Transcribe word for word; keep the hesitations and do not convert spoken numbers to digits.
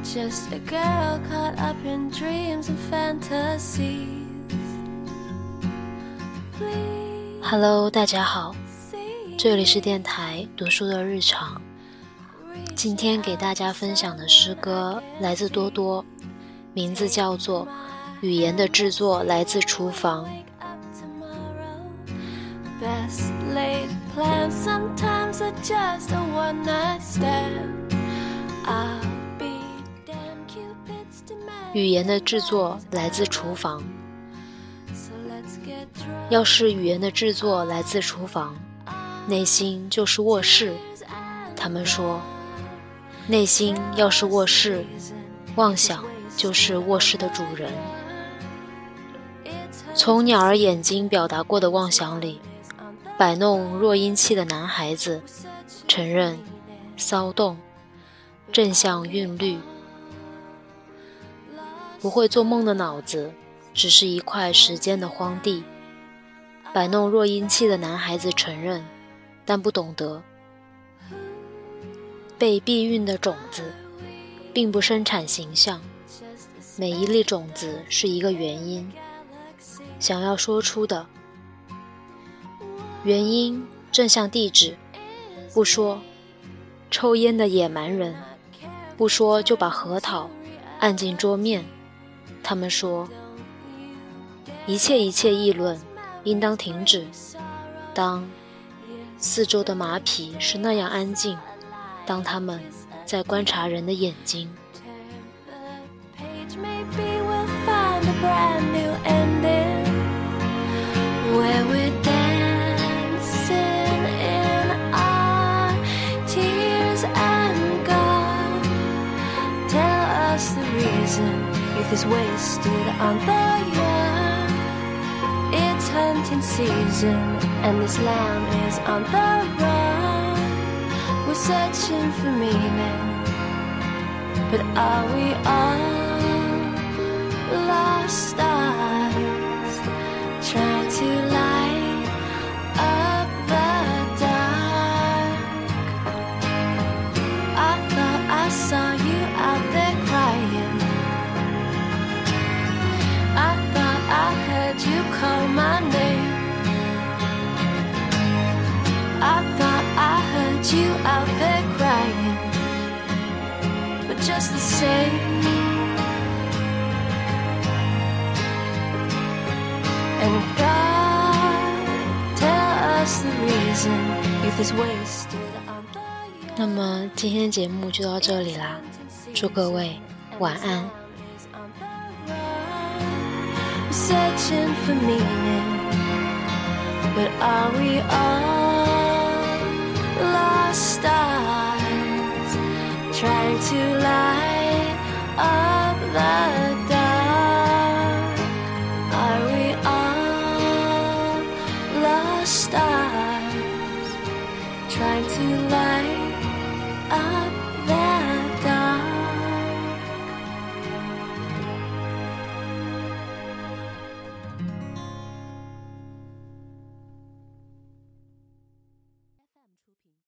Just a girl caught up in dreams and fantasies. Hello， 大家好，这里是电台读书的日常。今天给大家分享的诗歌来自多多，名字叫做《语言的制作来自厨房》。 Best laid plans sometimes are just a one night stand. I'll be damn Cupid's demand. 语言的制作来自厨房。 So let's get drunk. 要是语言的制作来自厨房，内心就是卧室。他们说，内心要是卧室，妄想就是卧室的主人。从鸟儿眼睛表达过的妄想里，摆弄弱音器的男孩子承认骚动，正向韵律。不会做梦的脑子只是一块时间的荒地。摆弄弱音器的男孩子承认，但不懂得被避孕的种子并不生产形象，每一粒种子是一个原因，想要说出的原因正向地址，不说抽烟的野蛮人，不说就把核桃按进桌面。他们说，一切一切议论应当停止，当四周的马匹是那样安静，当他们在观察人的眼睛。 Youth is wasted on the young. It's hunting season and this lamb is on the run. We're searching for meaning, but are we all lost stars trying to light up the dark? I thought I saw you out there crying. You call my name. I thought I heard you out there crying, but just the same. And God, tell us the reason youth is wasted on the young. 那么今天节目就到这里啦，祝各位晚安。 Searching for meaning, but are we all lost stars trying to light up the dark? Are we all lost stars trying to light up